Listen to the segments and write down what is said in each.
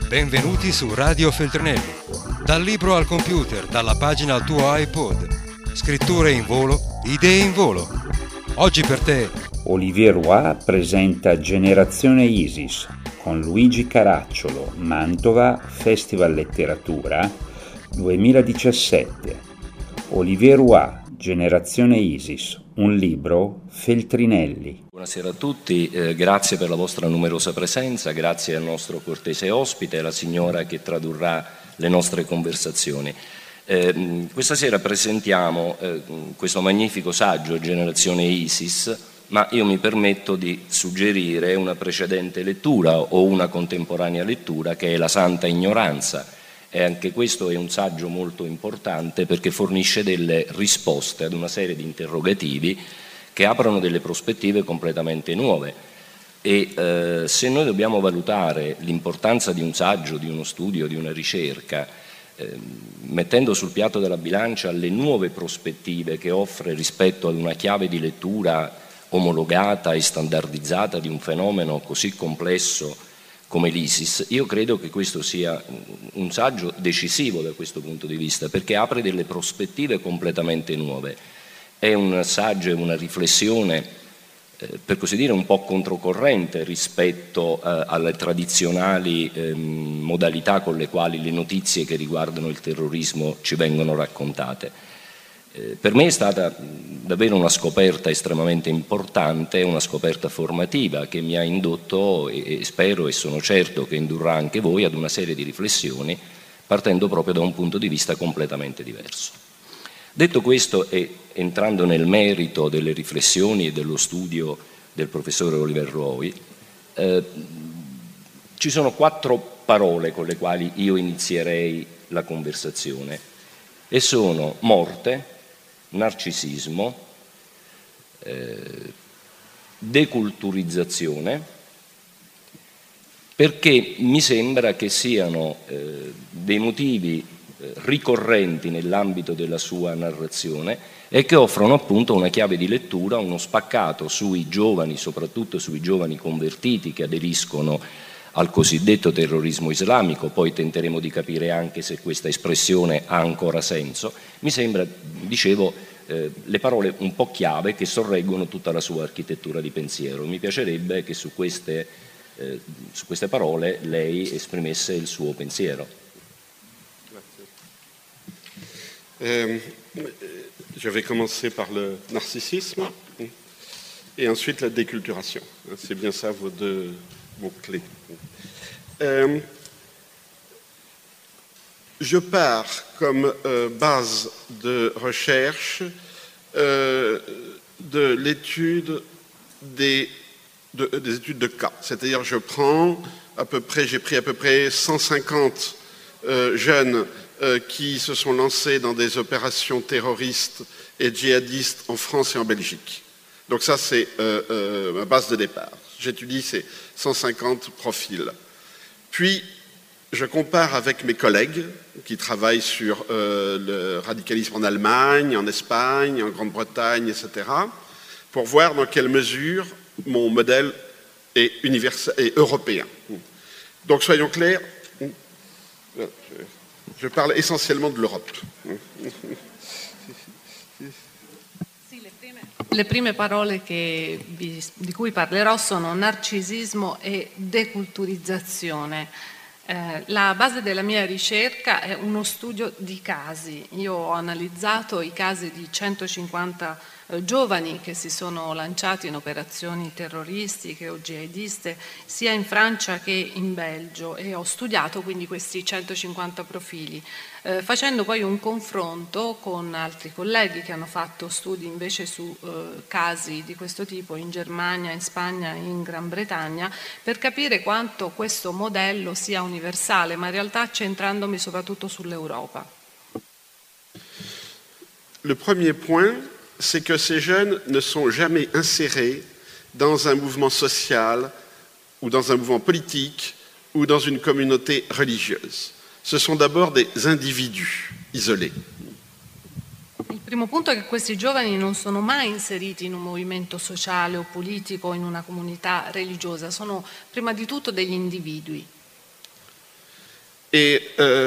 Benvenuti su Radio Feltrinelli. Dal libro al computer, dalla pagina al tuo iPod. Scritture in volo, idee in volo. Oggi per te Olivier Roy presenta Generazione Isis con Luigi Caracciolo, Mantova, Festival Letteratura 2017. Olivier Roy, Generazione Isis, un libro, Feltrinelli. Buonasera a tutti, grazie per la vostra numerosa presenza, grazie al nostro cortese ospite, la signora che tradurrà le nostre conversazioni. Questa sera presentiamo questo magnifico saggio, Generazione Isis, ma io mi permetto di suggerire una precedente lettura o una contemporanea lettura che è La Santa Ignoranza. E anche questo è un saggio molto importante perché fornisce delle risposte ad una serie di interrogativi che aprono delle prospettive completamente nuove. E se noi dobbiamo valutare l'importanza di un saggio, di uno studio, di una ricerca, mettendo sul piatto della bilancia le nuove prospettive che offre rispetto ad una chiave di lettura omologata e standardizzata di un fenomeno così complesso come l'ISIS, io credo che questo sia un saggio decisivo da questo punto di vista, perché apre delle prospettive completamente nuove. È un saggio e una riflessione, per così dire, un po' controcorrente rispetto alle tradizionali modalità con le quali le notizie che riguardano il terrorismo ci vengono raccontate. Per me è stata davvero una scoperta estremamente importante, una scoperta formativa che mi ha indotto e spero e sono certo che indurrà anche voi ad una serie di riflessioni partendo proprio da un punto di vista completamente diverso. Detto questo e entrando nel merito delle riflessioni e dello studio del professore Olivier Roy, ci sono 4 parole con le quali io inizierei la conversazione e sono morte, narcisismo, deculturizzazione, perché mi sembra che siano dei motivi ricorrenti nell'ambito della sua narrazione e che offrono appunto una chiave di lettura, uno spaccato sui giovani, soprattutto sui giovani convertiti che aderiscono al cosiddetto terrorismo islamico. Poi tenteremo di capire anche se questa espressione ha ancora senso. Mi sembra, dicevo, le parole un po' chiave che sorreggono tutta la sua architettura di pensiero. Mi piacerebbe che su queste parole lei esprimesse il suo pensiero. Je vais commencer par le narcissisme et ensuite la déculturation. C'est bien ça vos deux mots-clés. Je pars comme base de recherche de l'étude des études de cas. C'est-à-dire j'ai pris à peu près 150 jeunes qui se sont lancés dans des opérations terroristes et djihadistes en France et en Belgique. Donc ça, c'est ma base de départ. J'étudie ces 150 profils. Puis, je compare avec mes collègues qui travaillent sur le radicalisme en Allemagne, en Espagne, en Grande-Bretagne, etc., pour voir dans quelle mesure mon modèle est universel et européen. Donc, soyons clairs, je parle essentiellement de l'Europe. Le prime parole di cui parlerò sono narcisismo e deculturizzazione. La base della mia ricerca è uno studio di casi. Io ho analizzato i casi di 150 giovani che si sono lanciati in operazioni terroristiche o jihadiste sia in Francia che in Belgio e ho studiato quindi questi 150 profili, facendo poi un confronto con altri colleghi che hanno fatto studi invece su casi di questo tipo in Germania, in Spagna e in Gran Bretagna, per capire quanto questo modello sia universale, ma in realtà centrandomi soprattutto sull'Europa. Le premier point, c'est que ces jeunes ne sont jamais insérés dans un mouvement social ou dans un mouvement politique ou dans une communauté religieuse. Ce sont d'abord des individus isolés. Il primo punto è che questi giovani non sono mai inseriti in un movimento sociale o politico o in una comunità religiosa, sono prima di tutto degli individui. Et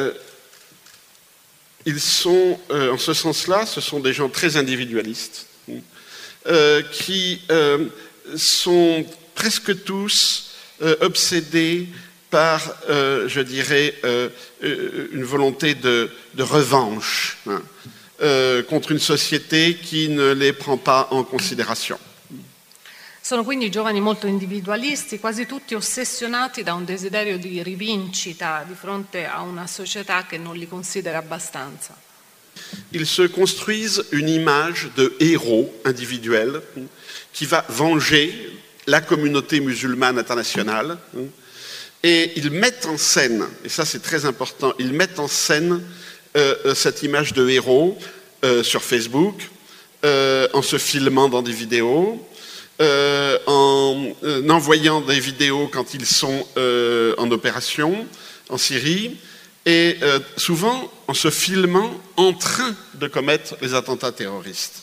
ils sont, en ce sens-là, ce sont des gens très individualistes, qui sont presque tous obsédés par, je dirais, une volonté de revanche contre une société qui ne les prend pas en considération. Sono quindi giovani molto individualisti, quasi tutti ossessionati da un desiderio di rivincita di fronte a una società che non li considera abbastanza. Ils se construisent une image de héros individuel qui va venger la communauté musulmane internationale et ils mettent en scène, et ça c'est très important, ils mettent en scène cette image de héros sur Facebook, en se filmant dans des vidéos, en envoyant des vidéos quand ils sont en opération en Syrie, et souvent en se filmant en train de commettre les attentats terroristes.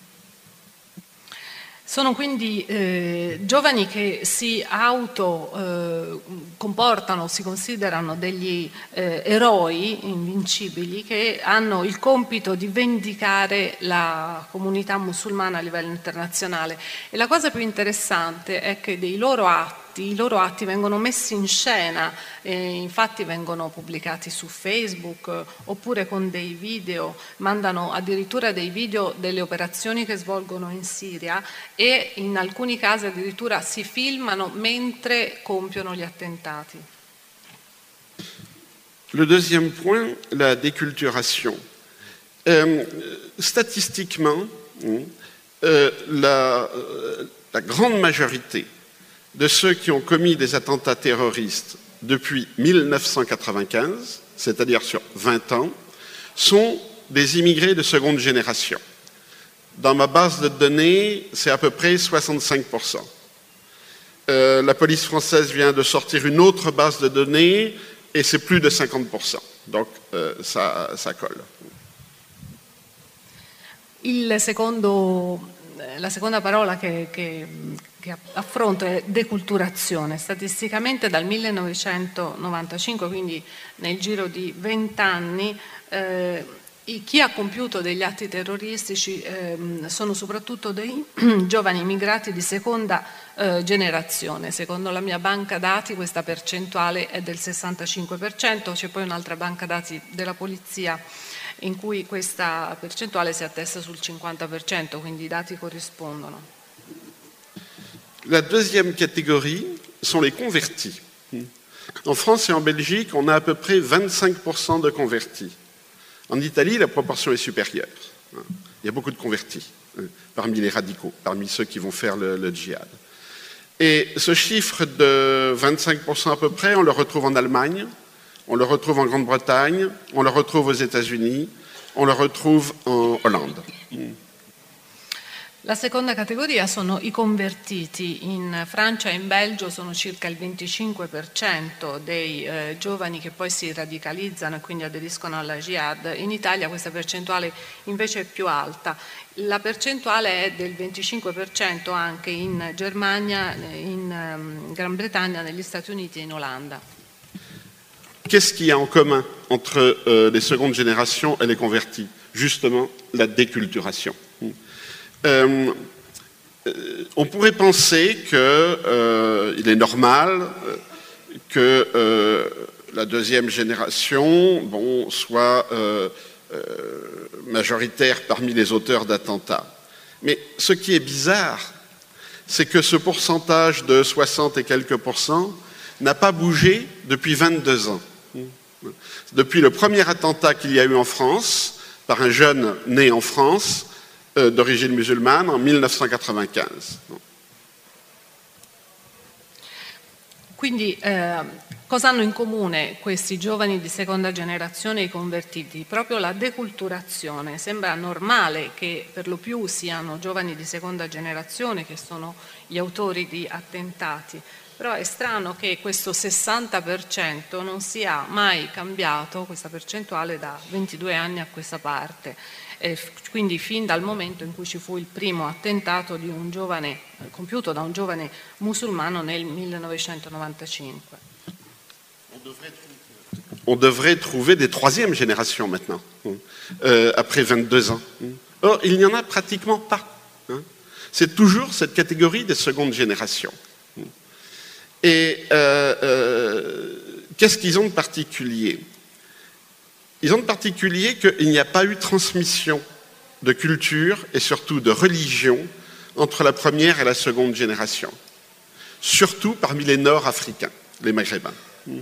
Sono quindi giovani che si comportano, si considerano degli eroi invincibili che hanno il compito di vendicare la comunità musulmana a livello internazionale. E la cosa più interessante è che i loro atti vengono messi in scena, infatti vengono pubblicati su Facebook oppure con dei video, mandano addirittura dei video delle operazioni che svolgono in Siria e in alcuni casi addirittura si filmano mentre compiono gli attentati. Le deuxième point, la déculturation. Statistiquement, la grande majorité de ceux qui ont commis des attentats terroristes depuis 1995, c'est-à-dire sur 20 ans, sont des immigrés de seconde génération. Dans ma base de données, c'est à peu près 65%. La police française vient de sortir une autre base de données et c'est plus de 50%. Donc ça colle. La seconda parola che affronto è deculturazione. Statisticamente dal 1995, quindi nel giro di 20 anni, chi ha compiuto degli atti terroristici sono soprattutto dei giovani immigrati di seconda generazione. Secondo la mia banca dati questa percentuale è del 65%, c'è poi un'altra banca dati della polizia in cui questa percentuale si attesta sul 50%, quindi i dati corrispondono. La deuxième catégorie sont les convertis. En France et en Belgique, on a à peu près 25% de convertis. En Italie, la proportion est supérieure. Il y a beaucoup de convertis parmi les radicaux, parmi ceux qui vont faire le djihad. Et ce chiffre de 25% à peu près, on le retrouve en Allemagne, on le retrouve en Grande-Bretagne, on le retrouve aux États-Unis, on le retrouve en Hollande. La seconda categoria sono i convertiti. In Francia e in Belgio sono circa il 25% dei giovani che poi si radicalizzano e quindi aderiscono alla jihad. In Italia questa percentuale invece è più alta. La percentuale è del 25% anche in Germania, in Gran Bretagna, negli Stati Uniti e in Olanda. Qu'est-ce qu'il y a en commun entre les secondes générations et les convertis? Justement, la déculturation. On pourrait penser qu'il est normal que la deuxième génération soit majoritaire parmi les auteurs d'attentats. Mais ce qui est bizarre, c'est que ce pourcentage de 60 et quelques % n'a pas bougé depuis 22 ans. Depuis le premier attentat qu'il y a eu en France, par un jeune né en France, d'origine musulmane, en 1995. Quindi cosa hanno in comune questi giovani di seconda generazione e i convertiti? Proprio la deculturazione. Sembra normale che per lo più siano giovani di seconda generazione che sono gli autori di attentati, però è strano che questo 60% non sia mai cambiato, questa percentuale, da 22 anni a questa parte. Quindi fin dal momento in cui ci fu il primo attentato di un giovane, compiuto da un giovane musulmano nel 1995. on devrait trouver des troisièmes générations maintenant, après 22 ans. Or, il n'y en a pratiquement pas. C'est toujours cette catégorie des secondes générations. Et qu'est-ce qu'ils ont de particulier? Ils ont de particulier qu'il n'y a pas eu transmission de culture et surtout de religion entre la première et la seconde génération. Surtout parmi les Nord-Africains, les Maghrébins.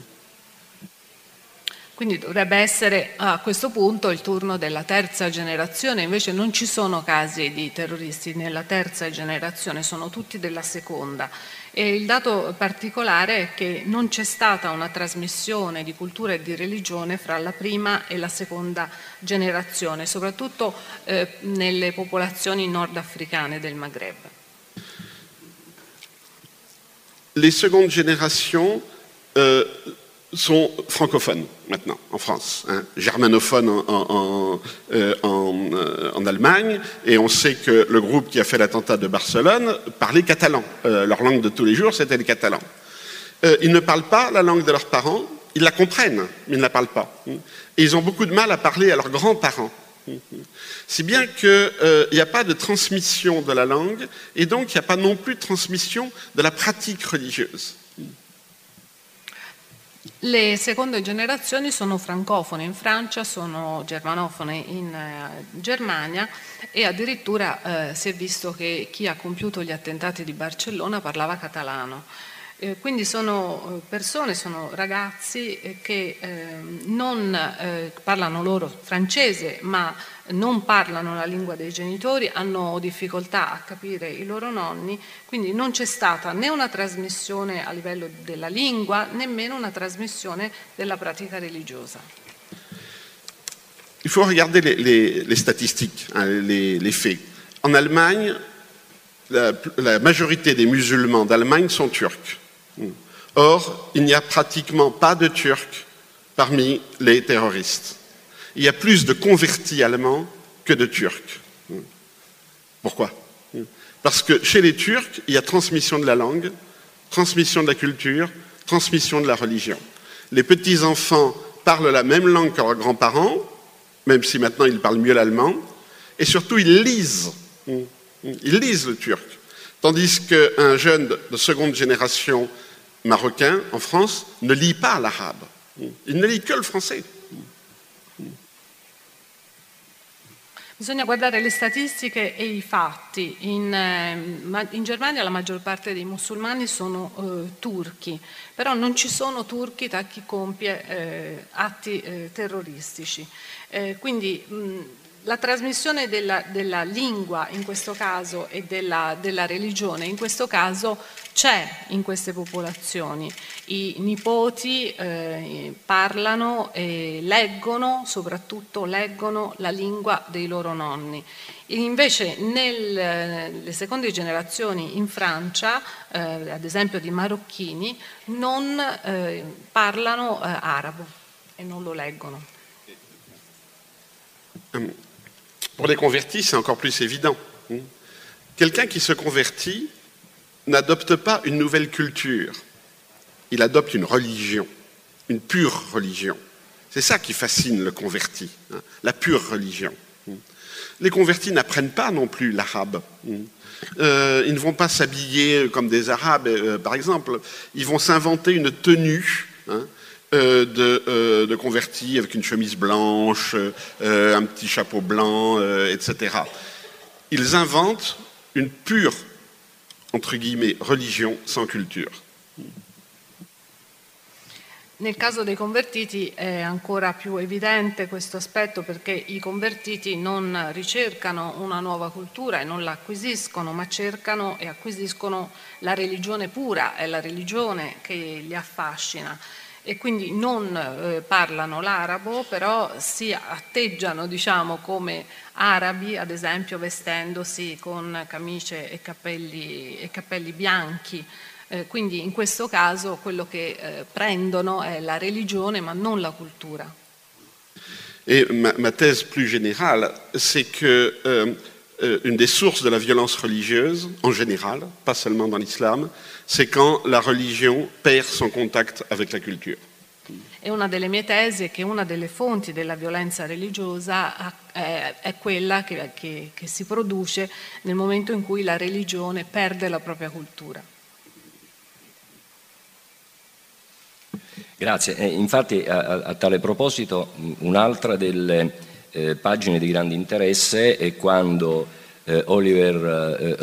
Quindi dovrebbe essere a questo punto il turno della terza generazione, invece non ci sono casi di terroristi nella terza generazione, sono tutti della seconda. E il dato particolare è che non c'è stata una trasmissione di cultura e di religione fra la prima e la seconda generazione, soprattutto nelle popolazioni nordafricane del Maghreb. Les secondes générations sont francophones maintenant en France, germanophones en Allemagne, et on sait que le groupe qui a fait l'attentat de Barcelone parlait catalan. Leur langue de tous les jours, c'était le catalan. Ils ne parlent pas la langue de leurs parents, ils la comprennent, mais ils ne la parlent pas. Et ils ont beaucoup de mal à parler à leurs grands-parents. Si bien qu'il n'y a pas de transmission de la langue, et donc il n'y a pas non plus de transmission de la pratique religieuse. Le seconde generazioni sono francofone in Francia, sono germanofone in Germania e addirittura si è visto che chi ha compiuto gli attentati di Barcellona parlava catalano. Quindi sono persone, sono ragazzi che non parlano loro francese, ma non parlano la lingua dei genitori, hanno difficoltà a capire i loro nonni, quindi non c'è stata né una trasmissione a livello della lingua, nemmeno una trasmissione della pratica religiosa. Il faut regarder les statistiques, les faits. En Allemagne, la majorité des musulmans d'Allemagne sont turcs. Or, il n'y a pratiquement pas de Turcs parmi les terroristes. Il y a plus de convertis allemands que de Turcs. Pourquoi? Parce que chez les Turcs, il y a transmission de la langue, transmission de la culture, transmission de la religion. Les petits-enfants parlent la même langue que leurs grands-parents, même si maintenant ils parlent mieux l'allemand, et surtout ils lisent. Ils lisent le turc. Tandis qu'un jeune de seconde génération marocain en France ne lit pas l'arabe. Il ne lit que le français. Bisogna guardare le statistiche e i fatti. In Germania la maggior parte dei musulmani sono turchi, però non ci sono turchi tra chi compie atti terroristici. Quindi la trasmissione della lingua in questo caso e della religione in questo caso c'è in queste popolazioni. I nipoti parlano e leggono, soprattutto leggono la lingua dei loro nonni. Invece nelle seconde generazioni in Francia, ad esempio di marocchini, non parlano arabo e non lo leggono. Pour les convertis, c'est encore plus évident. Quelqu'un qui se convertit n'adopte pas une nouvelle culture, il adopte une religion, une pure religion. C'est ça qui fascine le converti, la pure religion. Les convertis n'apprennent pas non plus l'arabe. Ils ne vont pas s'habiller comme des arabes, par exemple. Ils vont s'inventer une tenue de convertis avec une chemise blanche, un petit chapeau blanc, etc. Ils inventent une pure, entre guillemets, religion sans culture. Nel caso dei convertiti è ancora più evidente questo aspetto perché i convertiti non ricercano una nuova cultura e non la acquisiscono, ma cercano e acquisiscono la religione pura, è la religione che li affascina. E quindi non parlano l'arabo, però si atteggiano, diciamo, come arabi, ad esempio vestendosi con camicie e cappelli bianchi. Quindi in questo caso quello che prendono è la religione ma non la cultura. Et ma thèse plus générale, c'est que une des sources de la violence religieuse, en général, pas seulement dans l'islam, c'est quand la religion perd son contact avec la culture. E una delle mie tesi è che una delle fonti della violenza religiosa è quella che si produce nel momento in cui la religione perde la propria cultura. Grazie. Infatti a tale proposito un'altra delle pagine di grande interesse è quando Oliver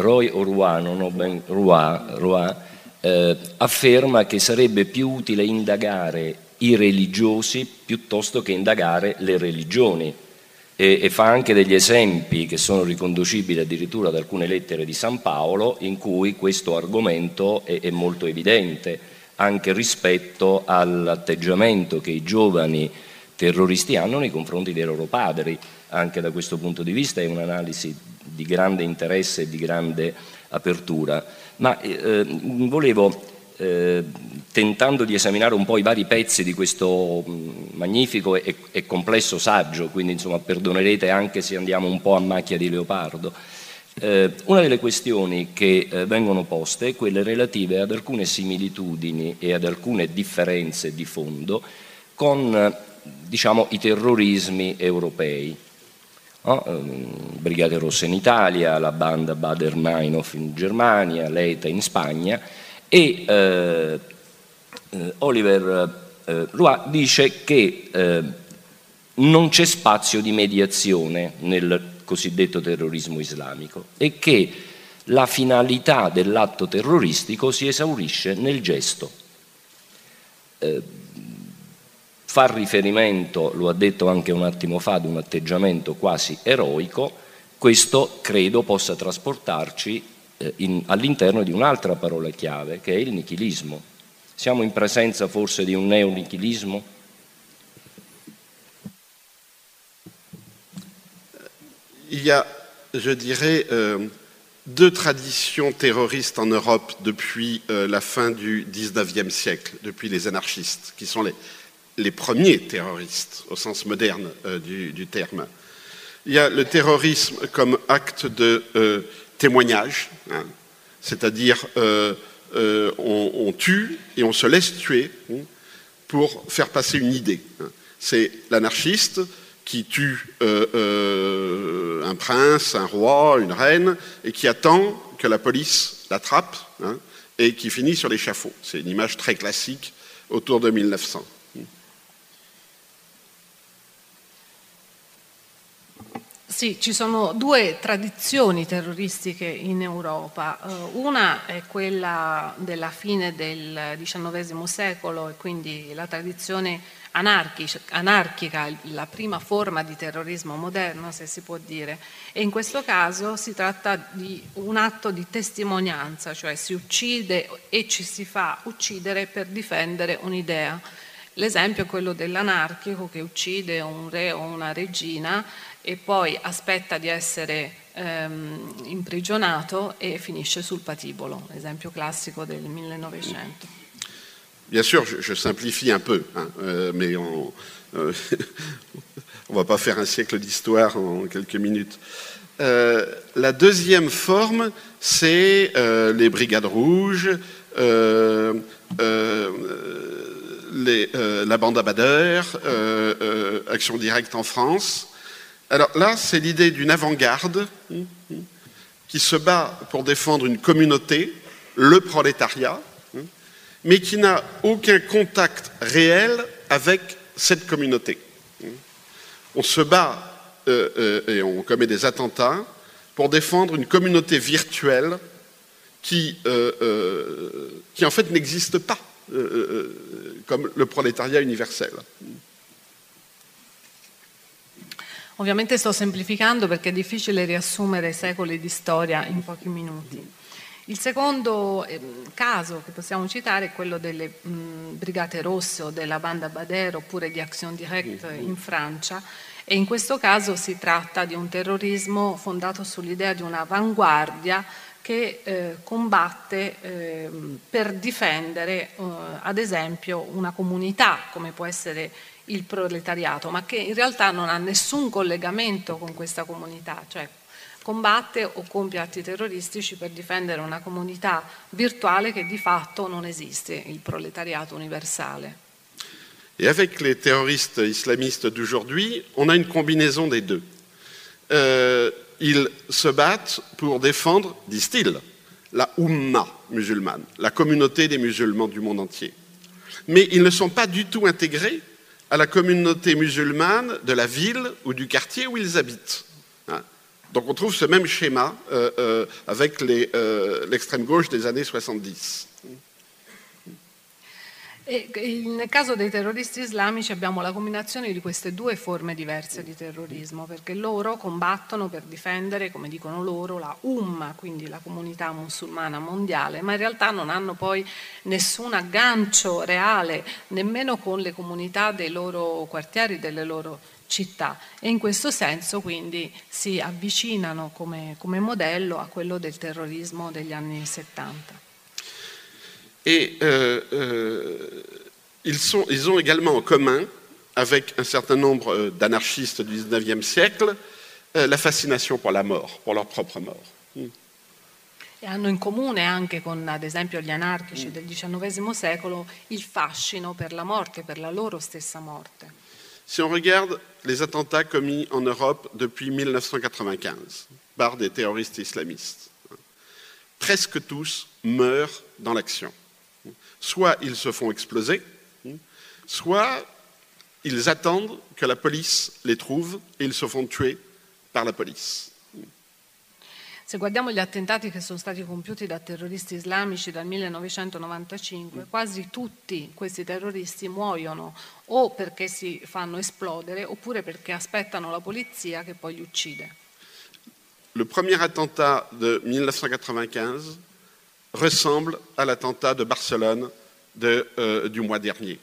Roy afferma che sarebbe più utile indagare i religiosi piuttosto che indagare le religioni e fa anche degli esempi che sono riconducibili addirittura ad alcune lettere di San Paolo in cui questo argomento è molto evidente anche rispetto all'atteggiamento che i giovani terroristi hanno nei confronti dei loro padri. Anche da questo punto di vista è un'analisi di grande interesse e di grande apertura. Ma volevo, tentando di esaminare un po' i vari pezzi di questo magnifico e complesso saggio, quindi insomma perdonerete anche se andiamo un po' a macchia di leopardo, una delle questioni che vengono poste è quelle relative ad alcune similitudini e ad alcune differenze di fondo con diciamo, i terrorismi europei. Brigate Rosse in Italia, la banda Baader-Meinhof in Germania, l'ETA in Spagna e Oliver Roy dice che non c'è spazio di mediazione nel cosiddetto terrorismo islamico e che la finalità dell'atto terroristico si esaurisce nel gesto. Fa riferimento, lo ha detto anche un attimo fa, ad un atteggiamento quasi eroico, questo credo possa trasportarci all'interno di un'altra parola chiave che è il nichilismo. Siamo in presenza forse di un neonichilismo? Il y a, je dirais, deux traditions terroristes en Europe depuis la fin du XIXe siècle, depuis les anarchistes, qui sont les premiers terroristes au sens moderne du terme. Il y a le terrorisme comme acte de témoignage, hein, c'est-à-dire on tue et on se laisse tuer pour faire passer une idée. C'est l'anarchiste qui tue un prince, un roi, une reine, et qui attend que la police l'attrape, hein, et qui finit sur l'échafaud. C'est une image très classique autour de 1900. Sì, ci sono due tradizioni terroristiche in Europa. Una è quella della fine del XIX secolo e quindi la tradizione anarchica, la prima forma di terrorismo moderno, se si può dire. E in questo caso si tratta di un atto di testimonianza, cioè si uccide e ci si fa uccidere per difendere un'idea. L'esempio è quello dell'anarchico che uccide un re o una regina e poi aspetta di essere imprigionato e finisce sul patibolo, esempio classico del 1900. Bien sûr, je simplifie un peu, hein, mais on va pas faire un siècle d'histoire en quelques minutes. La deuxième forme, c'est les brigades rouges, la bande à Baader, Action Directe en France. Alors là, c'est l'idée d'une avant-garde qui se bat pour défendre une communauté, le prolétariat, mais qui n'a aucun contact réel avec cette communauté. On se bat et on commet des attentats pour défendre une communauté virtuelle qui en fait n'existe pas, comme le prolétariat universel. Ovviamente sto semplificando perché è difficile riassumere secoli di storia in pochi minuti. Il secondo caso che possiamo citare è quello delle Brigate Rosse o della banda Baader oppure di Action Directe in Francia e in questo caso si tratta di un terrorismo fondato sull'idea di un'avanguardia che combatte per difendere ad esempio una comunità come può essere il proletariato, ma che in realtà non ha nessun collegamento con questa comunità, cioè combatte o compie atti terroristici per difendere una comunità virtuale che di fatto non esiste, il proletariato universale. Et avec les terroristes islamistes d'aujourd'hui, on a une combinaison des deux. Ils se battent pour défendre, disent-ils, la Ummah musulmane, la communauté des musulmans du monde entier. Mais ils ne sont pas du tout intégrés à la communauté musulmane de la ville ou du quartier où ils habitent. Donc on trouve ce même schéma avec l'extrême gauche des années 70. E nel caso dei terroristi islamici abbiamo la combinazione di queste due forme diverse di terrorismo, perché loro combattono per difendere, come dicono loro, la Ummah, quindi la comunità musulmana mondiale, ma in realtà non hanno poi nessun aggancio reale nemmeno con le comunità dei loro quartieri, delle loro città, e in questo senso quindi si avvicinano come modello a quello del terrorismo degli anni 70. Et ils ont également en commun, avec un certain nombre d'anarchistes du XIXe siècle, la fascination pour la mort, pour leur propre mort. E hanno in comune anche con, ad esempio, gli anarchici del XIX secolo il fascino per la morte, per la loro stessa morte. Si on regarde les attentats commis en Europe depuis 1995 par des terroristes islamistes, presque tous meurent dans l'action. Soit ils se font exploser, soit ils attendent que la police les trouve et ils se font tuer par la police. Se guardiamo gli attentati che sono stati compiuti da terroristi islamici dal 1995, quasi tutti questi terroristi muoiono o perché si fanno esplodere oppure perché aspettano la polizia che poi li uccide. Le premier attentat de 1995 ressemble à l'attentat de Barcelone du mois dernier.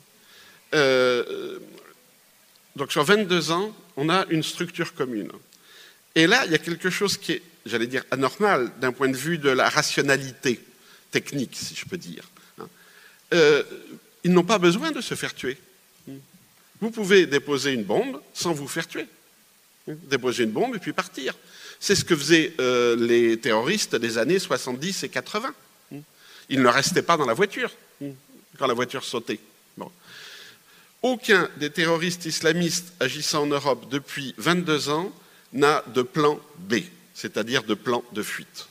Donc sur 22 ans, on a une structure commune. Et là, il y a quelque chose qui est, j'allais dire, anormal d'un point de vue de la rationalité technique, si je peux dire. Ils n'ont pas besoin de se faire tuer. Vous pouvez déposer une bombe sans vous faire tuer. Déposer une bombe et puis partir. C'est ce que faisaient les terroristes des années 70 et 80. Ils ne restaient pas dans la voiture quand la voiture sautait. Bon. Aucun des terroristes islamistes agissant en Europe depuis 22 ans n'a de plan B, c'est-à-dire de plan de fuite.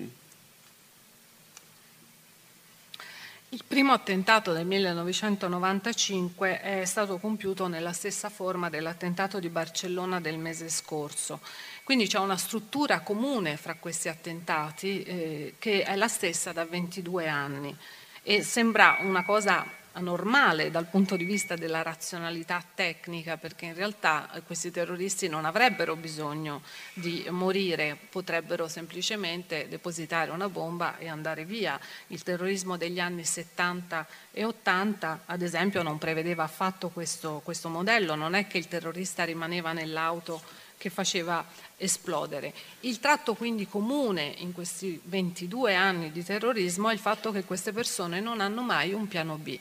Il primo attentato del 1995 è stato compiuto nella stessa forma dell'attentato di Barcellona del mese scorso. Quindi c'è una struttura comune fra questi attentati che è la stessa da 22 anni e sembra una cosa anormale dal punto di vista della razionalità tecnica, perché in realtà questi terroristi non avrebbero bisogno di morire, potrebbero semplicemente depositare una bomba e andare via. Il terrorismo degli anni 70 e 80, ad esempio, non prevedeva affatto questo modello, non è che il terrorista rimaneva nell'auto che faceva esplodere. Il tratto quindi comune in questi 22 anni di terrorismo è il fatto che queste persone non hanno mai un piano B.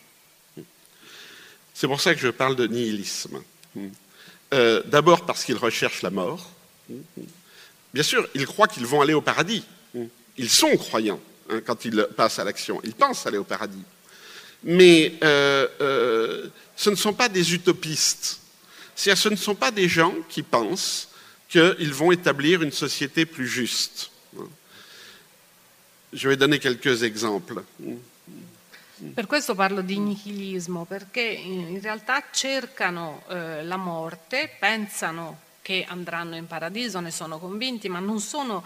C'est pour ça que je parle de nihilisme. D'abord parce qu'ils recherchent la mort. Bien sûr, ils croient qu'ils vont aller au paradis. Ils sont croyants quand ils passent à l'action. Ils pensent aller au paradis. Mais ce ne sont pas des utopistes. C'est-à-dire, ce ne sont pas des gens qui pensent qu'ils vont établir une société plus juste. Je vais donner quelques exemples. Per questo parlo di nichilismo, perché in realtà cercano la morte, pensano che andranno in paradiso, ne sono convinti, ma non sono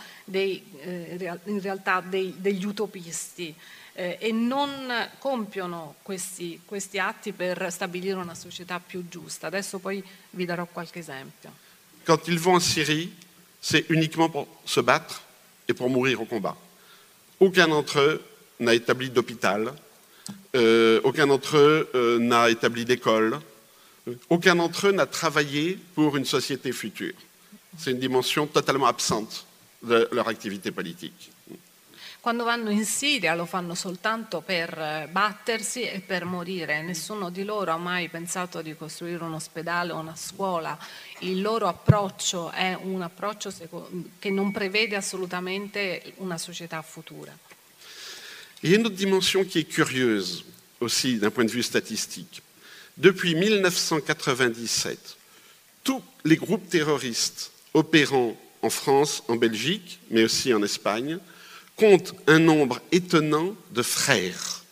in realtà degli utopisti e non compiono questi atti per stabilire una società più giusta. Adesso poi vi darò qualche esempio. Quand ils vont en Syrie, c'est uniquement pour se battre et pour mourir au combat. Aucun d'entre eux n'a établi d'hôpital. Aucun d'entre eux n'a établi d'école, aucun d'entre eux n'a travaillé pour une société future. C'est une dimension totalement absente de leur activité politique. Quando vanno in Siria lo fanno soltanto per battersi e per morire. Nessuno di loro ha mai pensato di costruire un ospedale o una scuola. Il loro approccio è un approccio che non prevede assolutamente una società futura. Il y a une autre dimension qui est curieuse aussi d'un point de vue statistique. Depuis 1997, tous les groupes terroristes opérant en France, en Belgique, mais aussi en Espagne, comptent un nombre étonnant de frères.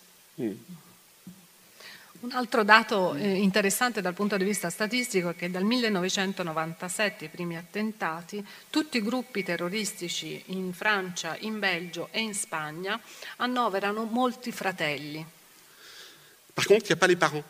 Un altro dato interessante dal punto di vista statistico è che dal 1997, i primi attentati, tutti i gruppi terroristici in Francia, in Belgio e in Spagna annoverano molti fratelli. Par contre, il n'y a pas les parents.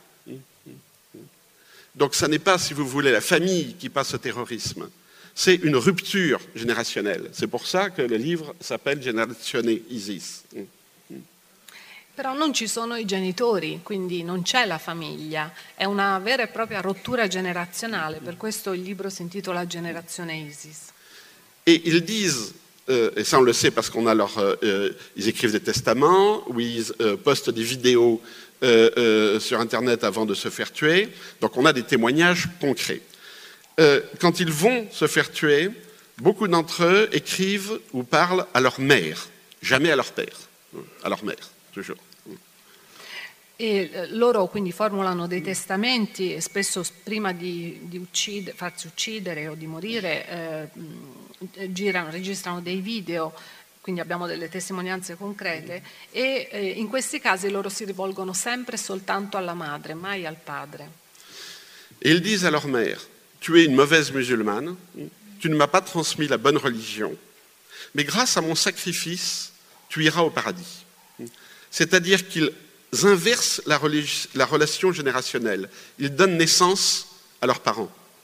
Donc ça n'est pas, si vous voulez, la famille qui passe au terrorisme. C'est une rupture générationnelle. C'est pour ça que le livre s'appelle Generazione Isis. Però non ci sono i genitori, quindi non c'è la famiglia, è una vera e propria rottura generazionale, per questo il libro si intitola Generazione Isis. Et ils disent, et ça on le sait parce qu'on a ils écrivent des testaments, où ils postent des vidéos sur Internet avant de se faire tuer, donc on a des témoignages concrets. Quand ils vont se faire tuer, beaucoup d'entre eux écrivent ou parlent à leur mère, jamais à leur père, à leur mère, toujours. E loro quindi formulano dei testamenti e spesso prima di farsi uccidere o di morire registrano dei video, quindi abbiamo delle testimonianze concrete e in questi casi loro si rivolgono sempre soltanto alla madre, mai al padre. Et ils disent à leur mère, tu es une mauvaise musulmane, tu ne m'as pas transmis la bonne religion, mais grâce à mon sacrifice, tu iras au paradis. C'est-à-dire qu'ils inversent la relation générationnelle. Ils donnent naissance à leurs parents.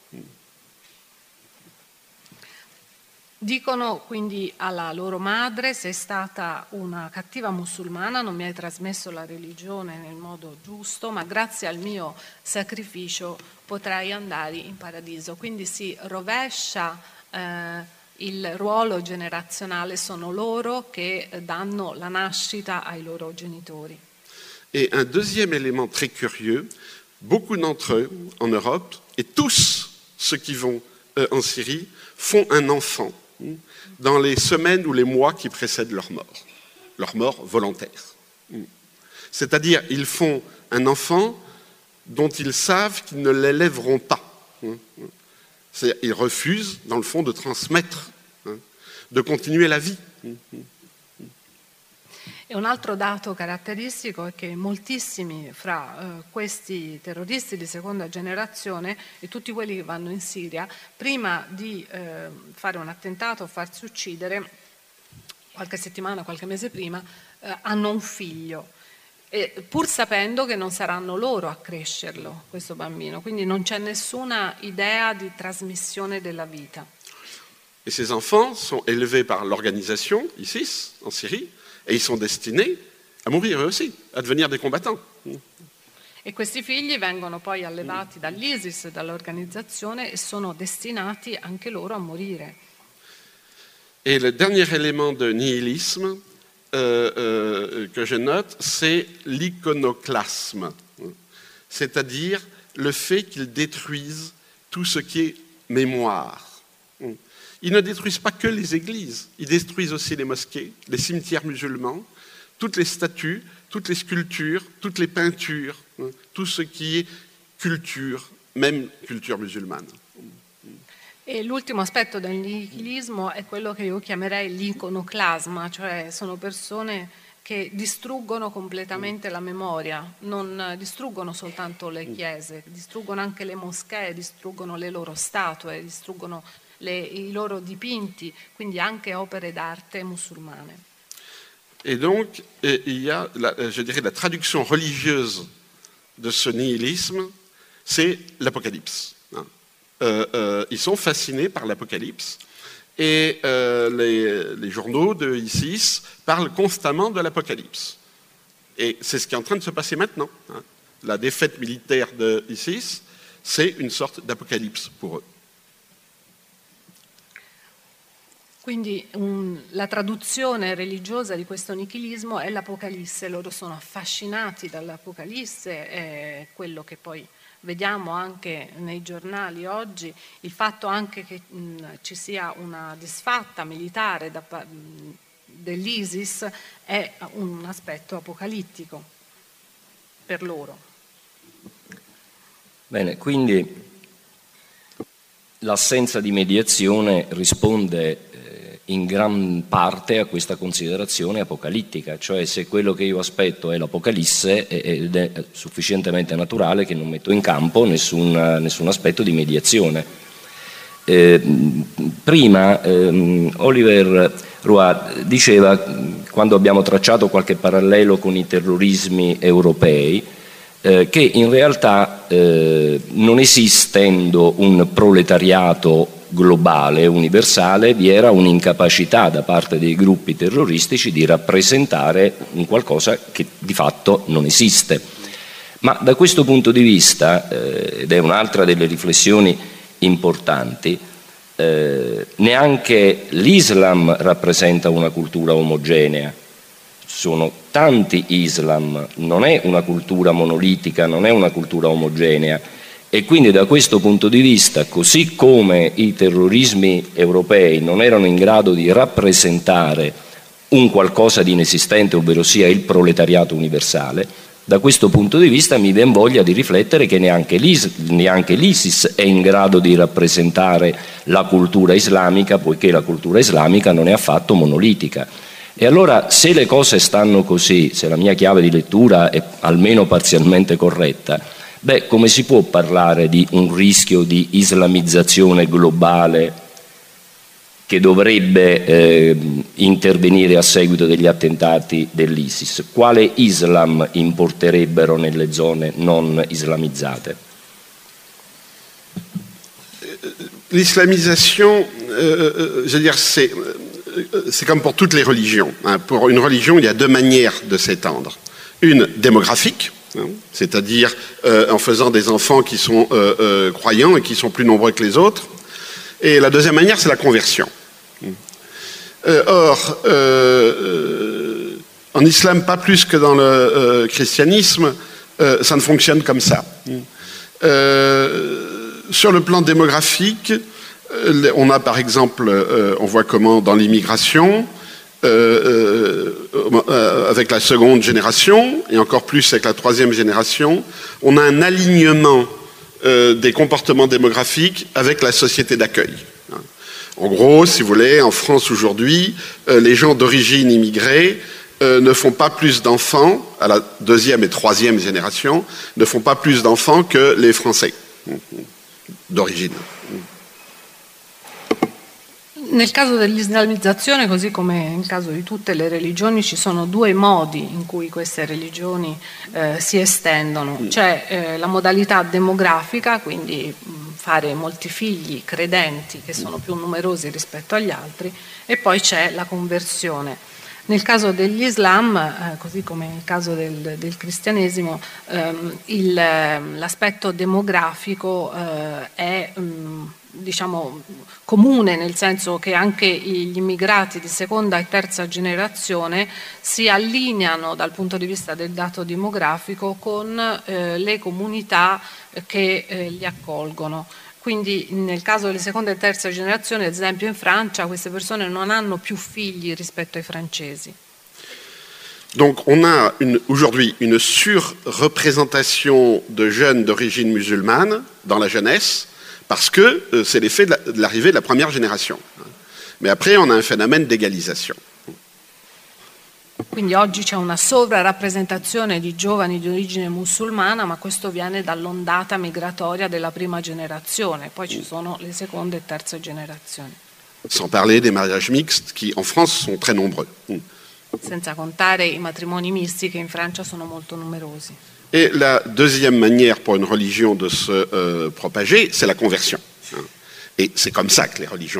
Dicono quindi alla loro madre: sei stata una cattiva musulmana, non mi hai trasmesso la religione nel modo giusto, ma grazie al mio sacrificio potrai andare in paradiso. Quindi si rovescia il ruolo generazionale, sono loro che danno la nascita ai loro genitori. Et un deuxième élément très curieux, beaucoup d'entre eux en Europe, et tous ceux qui vont en Syrie, font un enfant dans les semaines ou les mois qui précèdent leur mort volontaire. C'est-à-dire, ils font un enfant dont ils savent qu'ils ne l'élèveront pas. Ils refusent, dans le fond, de transmettre, de continuer la vie. E un altro dato caratteristico è che moltissimi fra questi terroristi di seconda generazione e tutti quelli che vanno in Siria, prima di fare un attentato o farsi uccidere, qualche settimana, qualche mese prima, hanno un figlio, pur sapendo che non saranno loro a crescerlo, questo bambino. Quindi non c'è nessuna idea di trasmissione della vita. Et ces enfants sont élevés par l'organisation ISIS en Syrie, et ils sont destinés à mourir eux aussi, à devenir des combattants. E questi figli vengono poi allevati dall'ISIS, dall'organizzazione, e sono destinati anche loro a morire. Et le dernier élément de nihilisme que je note, c'est l'iconoclasme, c'est-à-dire le fait qu'ils détruisent tout ce qui est mémoire. Ils ne détruisent pas que les églises, ils détruisent aussi les mosquées, les cimetières musulmans, toutes les statues, toutes les sculptures, toutes les peintures, tout ce qui est culture, même culture musulmane. E l'ultimo aspetto del nichilismo è quello che io chiamerei l'iconoclasma, cioè sono persone che distruggono completamente la memoria, non distruggono soltanto le chiese, distruggono anche le moschee, distruggono le loro statue, distruggono i loro dipinti, quindi anche opere d'arte musulmane. Et donc, il y a, je dirais, la traduction religieuse de ce nihilisme, c'est l'Apocalypse. Ils sont fascinés par l'Apocalypse et les journaux de ISIS parlent constamment de l'Apocalypse. Et c'est ce qui est en train de se passer maintenant. La défaite militaire de ISIS, c'est une sorte d'apocalypse pour eux. Quindi la traduzione religiosa di questo nichilismo è l'Apocalisse, loro sono affascinati dall'Apocalisse, è quello che poi vediamo anche nei giornali oggi, il fatto anche che ci sia una disfatta militare dell'ISIS è un aspetto apocalittico per loro. Bene, quindi l'assenza di mediazione risponde in gran parte a questa considerazione apocalittica, cioè se quello che io aspetto è l'Apocalisse ed è sufficientemente naturale che non metto in campo nessun aspetto di mediazione. Prima Oliver Roy diceva, quando abbiamo tracciato qualche parallelo con i terrorismi europei, che in realtà non esistendo un proletariato globale, universale, vi era un'incapacità da parte dei gruppi terroristici di rappresentare un qualcosa che di fatto non esiste. Ma da questo punto di vista, ed è un'altra delle riflessioni importanti, neanche l'Islam rappresenta una cultura omogenea. Sono tanti Islam, non è una cultura monolitica, non è una cultura omogenea. E quindi da questo punto di vista, così come i terrorismi europei non erano in grado di rappresentare un qualcosa di inesistente, ovvero sia il proletariato universale, da questo punto di vista mi viene voglia di riflettere che neanche l'ISIS è in grado di rappresentare la cultura islamica, poiché la cultura islamica non è affatto monolitica. E allora, se le cose stanno così, se la mia chiave di lettura è almeno parzialmente corretta, come si può parlare di un rischio di islamizzazione globale che dovrebbe intervenire a seguito degli attentati dell'ISIS? Quale Islam importerebbero nelle zone non islamizzate? L'islamisation, je veux dire, c'est comme pour toutes les religions. Pour une religion, il y a deux manières de s'étendre. Une démographique, c'est-à-dire en faisant des enfants qui sont croyants et qui sont plus nombreux que les autres. Et la deuxième manière, c'est la conversion. Or, en islam, pas plus que dans le christianisme, ça ne fonctionne comme ça. Sur le plan démographique, on a par exemple, on voit comment dans l'immigration, avec la seconde génération, et encore plus avec la troisième génération, on a un alignement des comportements démographiques avec la société d'accueil. En gros, si vous voulez, en France aujourd'hui, les gens d'origine immigrée ne font pas plus d'enfants, à la deuxième et troisième génération, ne font pas plus d'enfants que les Français d'origine. Nel caso dell'islamizzazione, così come nel caso di tutte le religioni, ci sono due modi in cui queste religioni si estendono. C'è la modalità demografica, quindi fare molti figli credenti che sono più numerosi rispetto agli altri, e poi c'è la conversione. Nel caso degli Islam, così come nel caso del cristianesimo, l'aspetto demografico è diciamo comune, nel senso che anche gli immigrati di seconda e terza generazione si allineano dal punto di vista del dato demografico con le comunità che li accolgono. Quindi nel caso delle seconda e terza generazioni, ad esempio in Francia, queste persone non hanno più figli rispetto ai francesi. Donc on a aujourd'hui une surreprésentation de jeunes d'origine musulmane dans la jeunesse, parce que c'est l'effet de l'arrivée de la première génération. Mais après, on a un phénomène d'égalisation. Quindi oggi c'è una sovrarappresentazione di giovani di origine musulmana, ma questo viene dall'ondata migratoria della prima generazione, poi ci sono le seconde e terze generazioni. Sans parler des mariages mixtes qui en France sont très nombreux. Senza contare i matrimoni misti che in Francia sono molto numerosi. Et la deuxième manière pour une religion de se propager, c'est la conversion. Et c'est comme ça que les religions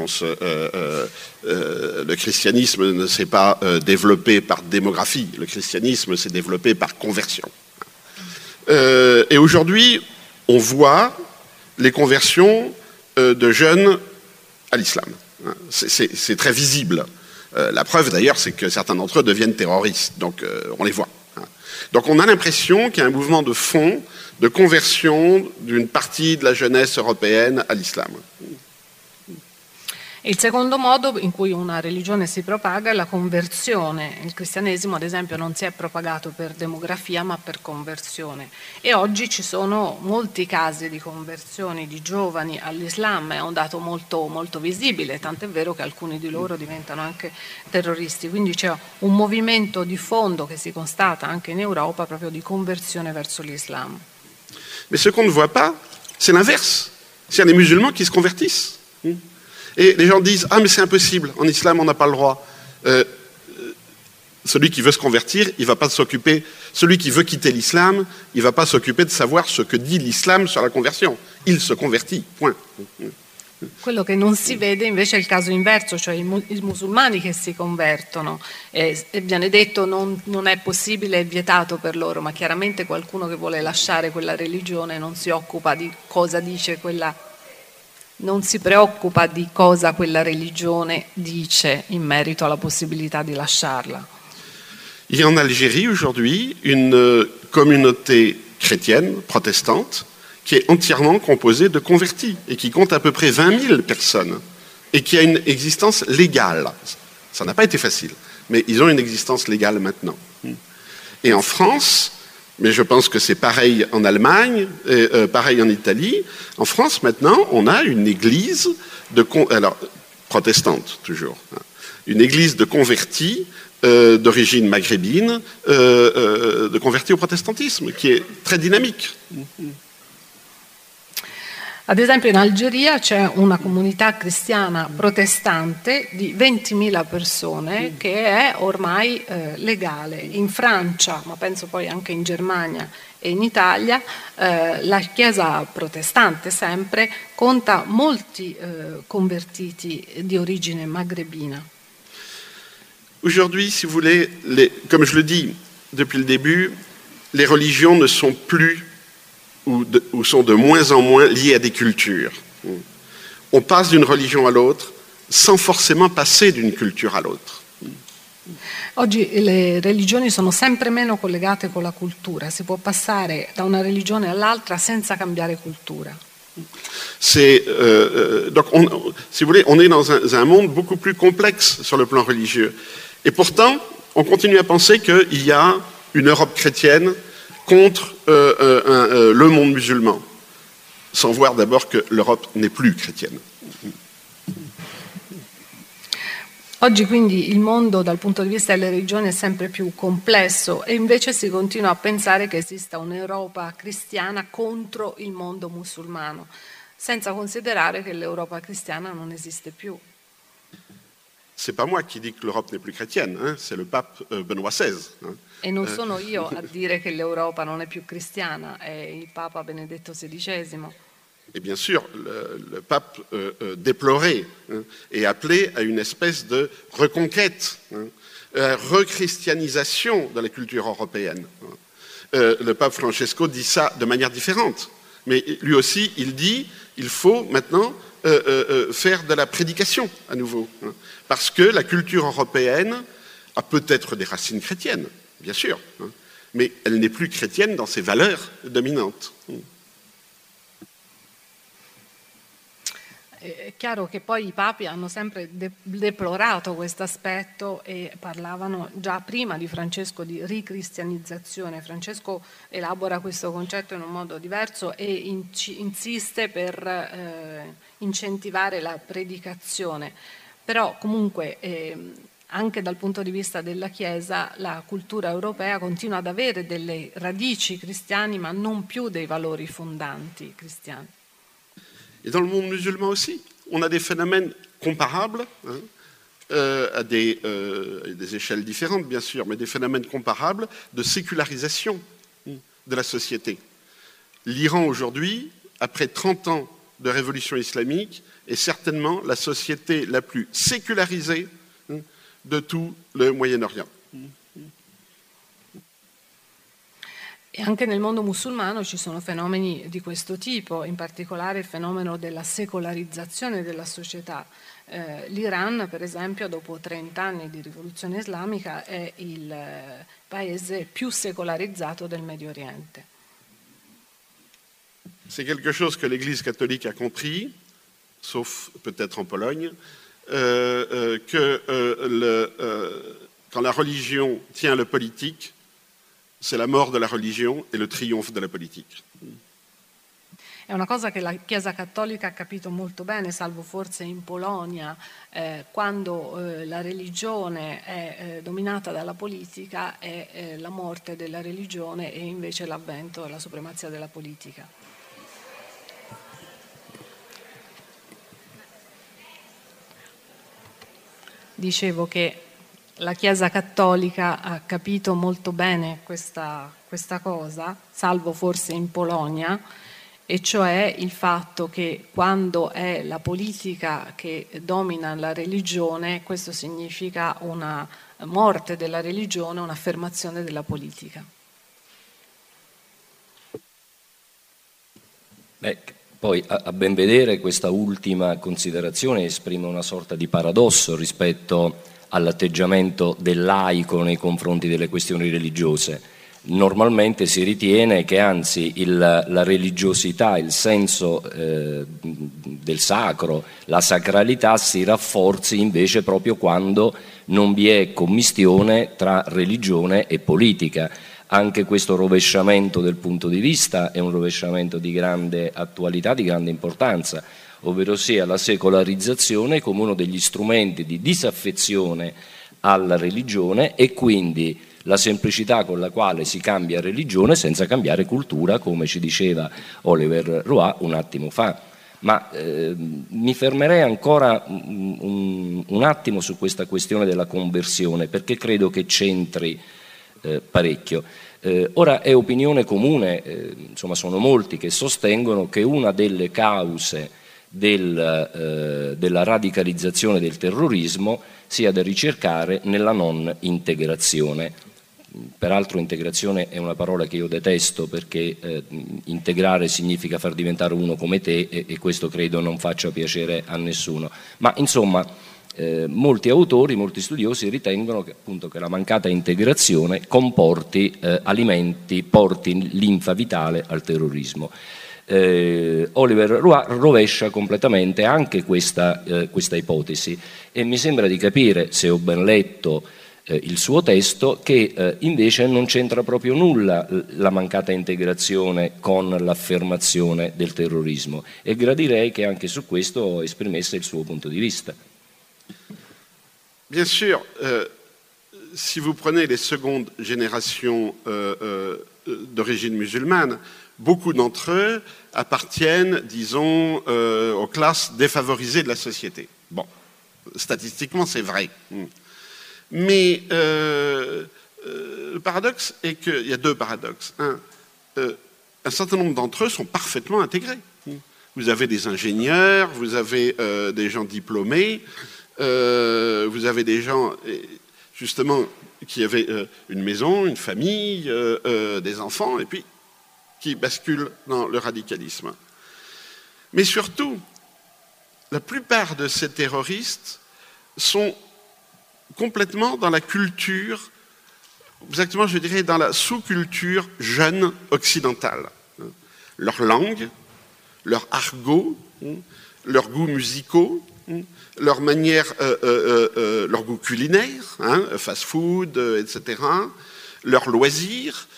le christianisme ne s'est pas développé par démographie, le christianisme s'est développé par conversion. Et aujourd'hui, on voit les conversions de jeunes à l'islam. C'est très visible. La preuve d'ailleurs, c'est que certains d'entre eux deviennent terroristes, donc on les voit. Donc on a l'impression qu'il y a un mouvement de fond, de conversion d'une partie de la jeunesse européenne à l'islam. Il secondo modo in cui una religione si propaga è la conversione. Il cristianesimo, ad esempio, non si è propagato per demografia ma per conversione, e oggi ci sono molti casi di conversioni di giovani all'Islam, è un dato molto, molto visibile, tant'è vero che alcuni di loro diventano anche terroristi, quindi c'è un movimento di fondo che si constata anche in Europa proprio di conversione verso l'Islam. Mais ce qu'on ne voit pas, c'est l'inverse. C'est les musulmans qui se convertissent. Et les gens disent « Ah, mais c'est impossible, en islam, on n'a pas le droit. » Celui qui veut se convertir, il ne va pas s'occuper... Celui qui veut quitter l'islam, il ne va pas s'occuper de savoir ce que dit l'islam sur la conversion. Il se convertit, point. Quello che non si vede invece è il caso inverso, cioè i musulmani che si convertono, e viene detto non è possibile, è vietato per loro, ma chiaramente qualcuno che vuole lasciare quella religione non si occupa di cosa dice non si preoccupa di cosa quella religione dice in merito alla possibilità di lasciarla. Il y a en Algérie aujourd'hui une communauté chrétienne, protestante, qui est entièrement composée de convertis et qui compte à peu près 20 000 personnes et qui a une existence légale. Ça n'a pas été facile, mais ils ont une existence légale maintenant. Et en France, mais je pense que c'est pareil en Allemagne, pareil en Italie, en France maintenant, on a une église protestante toujours, une église de convertis d'origine maghrébine, de convertis au protestantisme, qui est très dynamique. Ad esempio in Algeria c'è una comunità cristiana protestante di 20.000 persone che è ormai legale. In Francia, ma penso poi anche in Germania e in Italia, la Chiesa protestante sempre conta molti convertiti di origine magrebina. Aujourd'hui, si vous voulez, comme je le dis depuis le début, les religions ne sont plus ou sont de moins en moins liées à des cultures. On passe d'une religion à l'autre sans forcément passer d'une culture à l'autre. Oggi le religioni sono sempre meno collegate con la cultura, si può passare da una religione all'altra senza cambiare cultura. Donc, si vous voulez, on est dans un monde beaucoup plus complexe sur le plan religieux. Et pourtant, on continue à penser qu'il y a une Europe chrétienne contre le monde musulman, sans voir d'abord que l'Europe n'est plus chrétienne. Oggi quindi il mondo dal punto di vista delle religioni è sempre più complesso e invece si continua a pensare che esista un'Europa cristiana contro il mondo musulmano, senza considerare che l'Europa cristiana non esiste più. C'est pas moi qui dis que l'Europe n'est plus chrétienne, hein, c'est le pape Benoît XVI. Hein. E non sono io a dire che l'Europa non è più cristiana, è il Papa Benedetto XVI. Et bien sûr, le pape déplorait et appelait à une espèce de reconquête, rechristianisation de la culture européenne. Le pape Francesco dit ça de manière différente, mais lui aussi, il dit il faut maintenant faire de la prédication à nouveau, parce que la culture européenne a peut-être des racines chrétiennes, bien sûr, mais elle n'est plus chrétienne dans ses valeurs dominantes. È chiaro che poi i papi hanno sempre deplorato questo aspetto e parlavano già prima di Francesco di ricristianizzazione. Francesco elabora questo concetto in un modo diverso e insiste per incentivare la predicazione. Però comunque anche dal punto di vista della Chiesa la cultura europea continua ad avere delle radici cristiane ma non più dei valori fondanti cristiani. Et dans le monde musulman aussi, on a des phénomènes comparables, à des échelles différentes bien sûr, mais des phénomènes comparables de sécularisation de la société. L'Iran aujourd'hui, après 30 ans de révolution islamique, est certainement la société la plus sécularisée de tout le Moyen-Orient. E anche nel mondo musulmano ci sono fenomeni di questo tipo, in particolare il fenomeno della secolarizzazione della società. L'Iran, per esempio, dopo 30 anni di rivoluzione islamica, è il paese più secolarizzato del Medio Oriente. C'est quelque chose que l'Église catholique a compris, sauf peut-être en Pologne, quand la religion tient le politique, c'est la mort de la religion e le triomphe della politica. È una cosa che la Chiesa Cattolica ha capito molto bene, salvo forse in Polonia, quando la religione è dominata dalla politica, è la morte della religione e invece l'avvento e la supremazia della politica. Dicevo che la Chiesa Cattolica ha capito molto bene questa cosa, salvo forse in Polonia, e cioè il fatto che quando è la politica che domina la religione, questo significa una morte della religione, un'affermazione della politica. Poi a ben vedere questa ultima considerazione esprime una sorta di paradosso rispetto all'atteggiamento del laico nei confronti delle questioni religiose. Normalmente si ritiene che anzi la religiosità, il senso del sacro, la sacralità si rafforzi invece proprio quando non vi è commistione tra religione e politica. Anche questo rovesciamento del punto di vista è un rovesciamento di grande attualità, di grande importanza, ovvero sia la secolarizzazione come uno degli strumenti di disaffezione alla religione e quindi la semplicità con la quale si cambia religione senza cambiare cultura, come ci diceva Oliver Roy un attimo fa. Ma mi fermerei ancora un attimo su questa questione della conversione, perché credo che c'entri parecchio. Ora è opinione comune, insomma sono molti che sostengono che una delle cause della radicalizzazione del terrorismo sia da ricercare nella non integrazione. Peraltro integrazione è una parola che io detesto perché integrare significa far diventare uno come te e questo credo non faccia piacere a nessuno. Ma insomma molti autori, molti studiosi ritengono che, appunto, che la mancata integrazione comporti porti linfa vitale al terrorismo. Oliver Roy rovescia completamente anche questa ipotesi e mi sembra di capire, se ho ben letto il suo testo, che invece non c'entra proprio nulla la mancata integrazione con l'affermazione del terrorismo e gradirei che anche su questo esprimesse il suo punto di vista. Bien sûr, si vous prenez les secondes générations d'origine musulmane, beaucoup d'entre eux appartiennent, disons, aux classes défavorisées de la société. Bon, statistiquement, c'est vrai. Mais le paradoxe est qu'il y a deux paradoxes. Un certain nombre d'entre eux sont parfaitement intégrés. Vous avez des ingénieurs, vous avez des gens diplômés, vous avez des gens, justement, qui avaient une maison, une famille, des enfants, et puis qui basculent dans le radicalisme. Mais surtout, la plupart de ces terroristes sont complètement dans la culture, exactement je dirais dans la sous-culture jeune occidentale. Leur langue, leur argot, leurs goûts musicaux, leur manière, leur goût culinaire, fast-food, etc., leurs loisirs,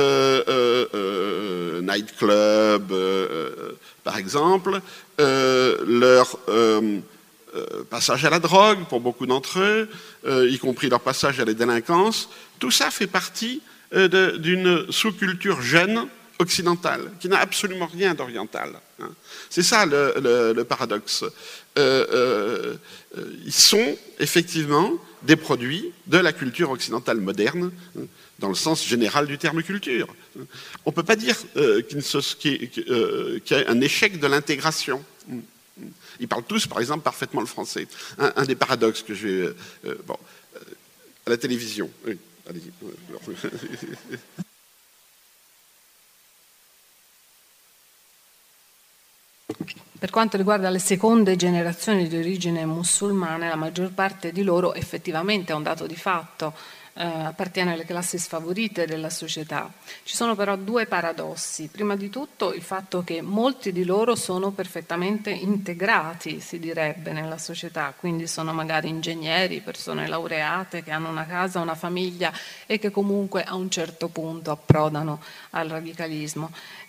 nightclub, par exemple, leur passage à la drogue pour beaucoup d'entre eux, y compris leur passage à la délinquance, tout ça fait partie d'une sous-culture jeune occidentale, qui n'a absolument rien d'oriental. C'est ça le paradoxe. Ils sont effectivement des produits de la culture occidentale moderne, dans le sens général du terme culture. On ne peut pas dire qu'il y a un échec de l'intégration. Ils parlent tous, par exemple, parfaitement le français. Un des paradoxes que j'ai... à la télévision. Oui, allez-y. Per quanto riguarda le seconde generazioni di origine musulmane, la maggior parte di loro effettivamente è un dato di fatto, appartiene alle classi sfavorite della società. Ci sono però due paradossi. Prima di tutto il fatto che molti di loro sono perfettamente integrati, si direbbe, nella società, quindi sono magari ingegneri, persone laureate che hanno una casa, una famiglia e che comunque a un certo punto approdano al radicalismo.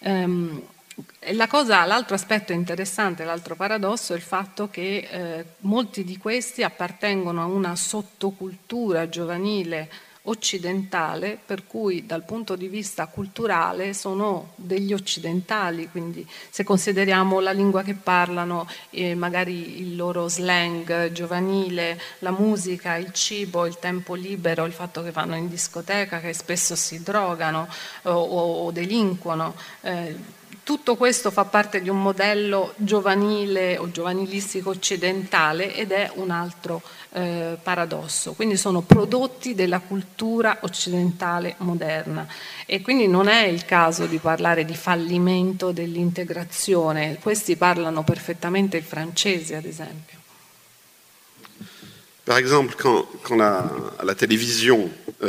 L'altro aspetto interessante, l'altro paradosso è il fatto che molti di questi appartengono a una sottocultura giovanile occidentale, per cui dal punto di vista culturale sono degli occidentali, quindi se consideriamo la lingua che parlano, magari il loro slang giovanile, la musica, il cibo, il tempo libero, il fatto che vanno in discoteca, che spesso si drogano o delinquono, tutto questo fa parte di un modello giovanile o giovanilistico occidentale ed è un altro paradosso. Quindi sono prodotti della cultura occidentale moderna e quindi non è il caso di parlare di fallimento dell'integrazione. Questi parlano perfettamente il francese, ad esempio. Par exemple, quand à la télévision,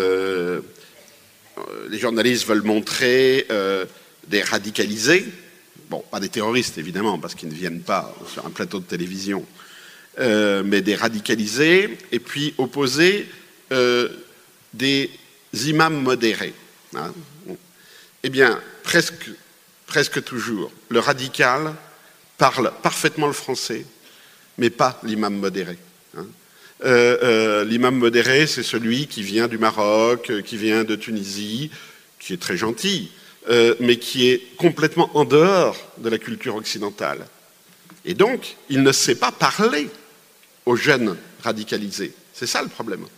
les journalistes veulent montrer des radicalisés, bon, pas des terroristes évidemment, parce qu'ils ne viennent pas sur un plateau de télévision, mais des radicalisés, et puis opposer des imams modérés. Hein. Eh bien, presque toujours, le radical parle parfaitement le français, mais pas l'imam modéré. Hein. L'imam modéré, c'est celui qui vient du Maroc, qui vient de Tunisie, qui est très gentil, mais qui est complètement en dehors de la culture occidentale. Et donc, il ne sait pas parler aux jeunes radicalisés. C'est ça le problème.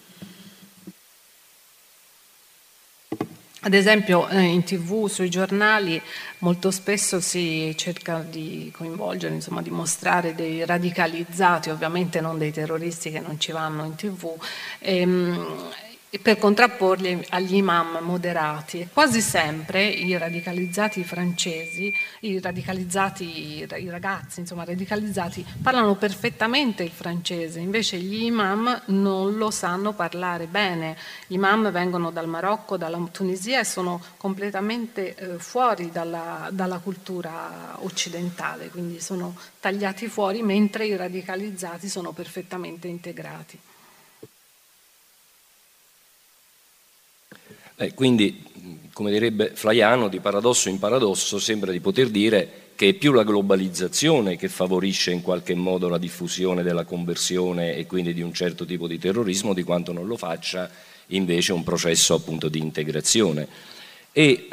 Ad esempio in TV, sui giornali, molto spesso si cerca di coinvolgere, insomma, di mostrare dei radicalizzati, ovviamente non dei terroristi che non ci vanno in TV, e per contrapporli agli imam moderati. E quasi sempre i radicalizzati francesi, i ragazzi, insomma, radicalizzati, parlano perfettamente il francese, invece gli imam non lo sanno parlare bene. Gli imam vengono dal Marocco, dalla Tunisia e sono completamente fuori dalla cultura occidentale, quindi sono tagliati fuori, mentre i radicalizzati sono perfettamente integrati. Quindi, come direbbe Flaiano, di paradosso in paradosso sembra di poter dire che è più la globalizzazione che favorisce in qualche modo la diffusione della conversione e quindi di un certo tipo di terrorismo, di quanto non lo faccia invece un processo appunto di integrazione. E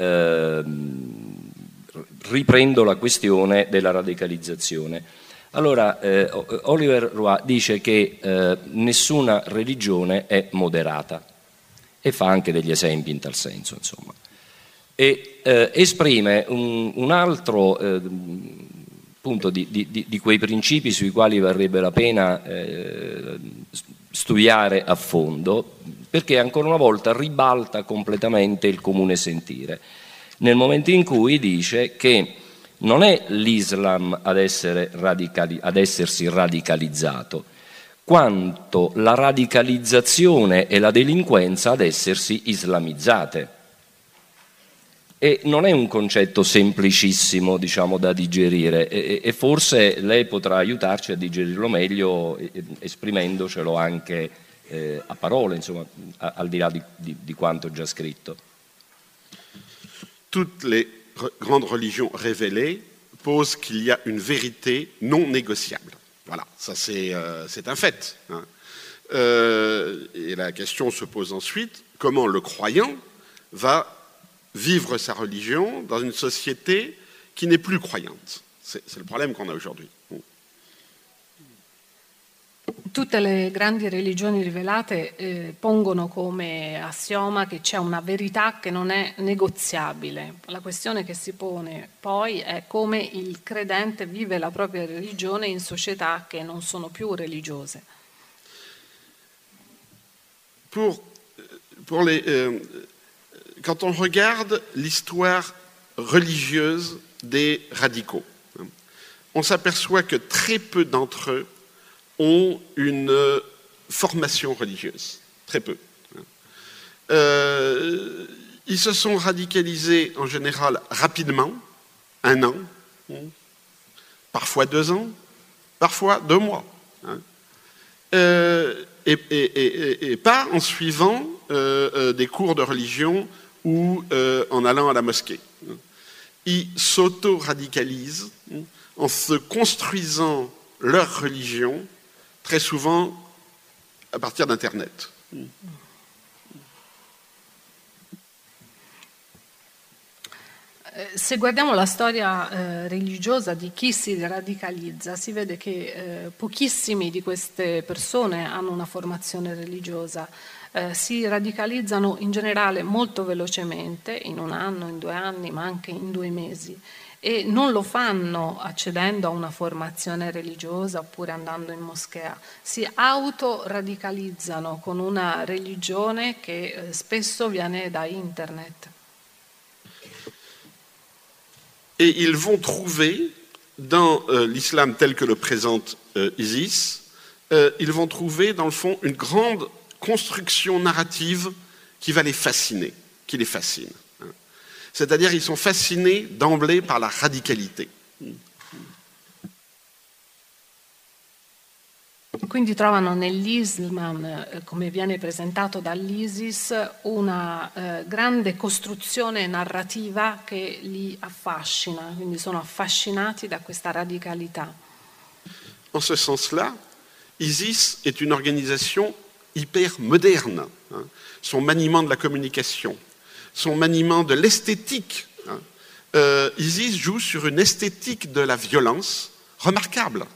riprendo la questione della radicalizzazione. Allora, Oliver Roy dice che nessuna religione è moderata, e fa anche degli esempi in tal senso, insomma. E esprime un altro punto di quei principi sui quali varrebbe la pena studiare a fondo, perché ancora una volta ribalta completamente il comune sentire, nel momento in cui dice che non è l'Islam ad essersi radicalizzato, quanto la radicalizzazione e la delinquenza ad essersi islamizzate. E non è un concetto semplicissimo, diciamo, da digerire, e forse lei potrà aiutarci a digerirlo meglio esprimendocelo anche a parole, insomma, al di là di quanto già scritto. Toutes les grandes religions révélées posent qu'il y a une vérité non négociable. Voilà, ça c'est un fait. Hein. Et la question se pose ensuite, comment le croyant va vivre sa religion dans une société qui n'est plus croyante. C'est le problème qu'on a aujourd'hui. Tutte le grandi religioni rivelate pongono come assioma che c'è una verità che non è negoziabile. La questione che si pone poi è come il credente vive la propria religione in società che non sono più religiose. Quand on regarde l'histoire religieuse des radicaux, on s'aperçoit que très peu d'entre eux ont une formation religieuse, très peu. Ils se sont radicalisés en général rapidement, 1 an, parfois 2 ans, parfois 2 mois. Et pas en suivant des cours de religion ou en allant à la mosquée. Ils s'auto-radicalisent en se construisant leur religion, très souvent à partir d'Internet. Se guardiamo la storia religiosa di chi si radicalizza, si vede che pochissimi di queste persone hanno una formazione religiosa, si radicalizzano in generale molto velocemente, in 1 anno, in 2 anni, ma anche in 2 mesi, e non lo fanno accedendo a una formazione religiosa oppure andando in moschea, si autoradicalizzano con una religione che spesso viene da internet. Et ils vont trouver, dans l'islam tel que le présente Isis, ils vont trouver dans le fond une grande construction narrative qui va les fasciner, qui les fascine. C'est-à-dire ils sont fascinés d'emblée par la radicalité. Quindi trovano nell'Islam, come viene presentato dall'ISIS, una grande costruzione narrativa che li affascina, quindi sono affascinati da questa radicalità. En ce sens-là, ISIS est une organisation hyper moderne. Son maniement de la communication, son maniement de l'esthétique. ISIS joue sur une esthétique de la violence remarquable.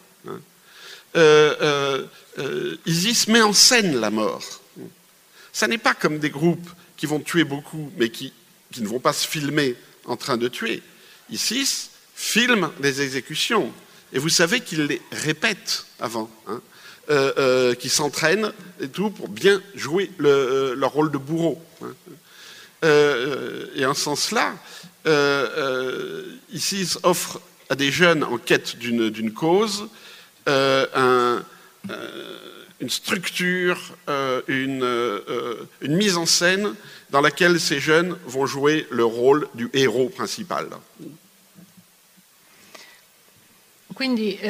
ISIS met en scène la mort. Ça n'est pas comme des groupes qui vont tuer beaucoup, mais qui ne vont pas se filmer en train de tuer. ISIS filme les exécutions. Et vous savez qu'ils les répètent avant, qu'ils s'entraînent et tout pour bien jouer leur rôle de bourreau. Et en ce sens-là, ISIS offre à des jeunes en quête d'une cause une structure, une mise en scène dans laquelle ces jeunes vont jouer le rôle du héros principal. Quindi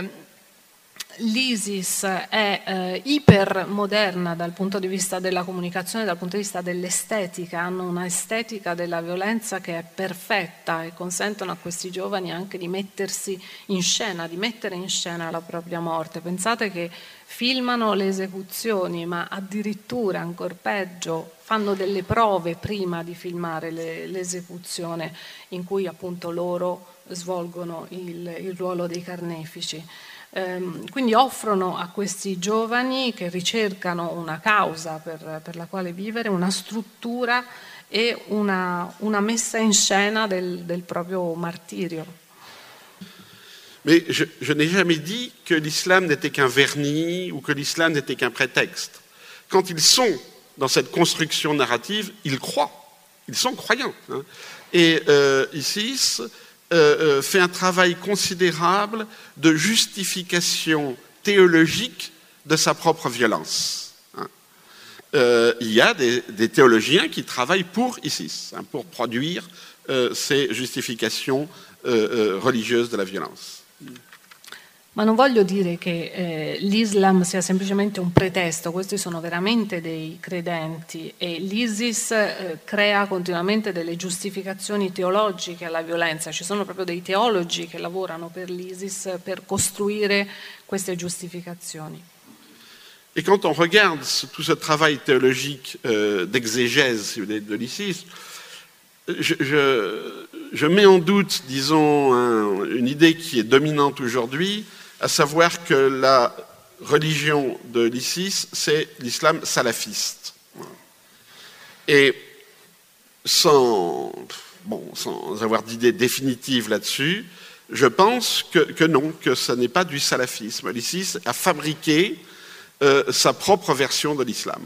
l'ISIS è ipermoderna dal punto di vista della comunicazione, dal punto di vista dell'estetica, hanno una estetica della violenza che è perfetta e consentono a questi giovani anche di mettersi in scena, di mettere in scena la propria morte. Pensate che filmano le esecuzioni, ma addirittura, ancor peggio, fanno delle prove prima di filmare l'esecuzione in cui appunto loro svolgono il ruolo dei carnefici. Quindi offrono a questi giovani che ricercano una causa per la quale vivere, una struttura e una messa in scena del proprio martirio. Mais je n'ai jamais dit que l'islam n'était qu'un vernis ou que l'islam n'était qu'un prétexte. Quand ils sont dans cette construction narrative, ils croient, ils sont croyants. Et ISIS fait un travail considérable de justification théologique de sa propre violence. Il y a des théologiens qui travaillent pour ISIS, pour produire ces justifications religieuses de la violence. Ma non voglio dire che l'Islam sia semplicemente un pretesto, questi sono veramente dei credenti e l'ISIS crea continuamente delle giustificazioni teologiche alla violenza, ci sono proprio dei teologi che lavorano per l'ISIS per costruire queste giustificazioni. Et quand on regarde tout ce travail théologique d'exégèse de l'ISIS, je mets en doute, disons, une idée qui est dominante aujourd'hui, à savoir que la religion de l'ISIS, c'est l'islam salafiste. Et sans avoir d'idée définitive là-dessus, je pense que non, que ce n'est pas du salafisme. L'ISIS a fabriqué sa propre version de l'islam.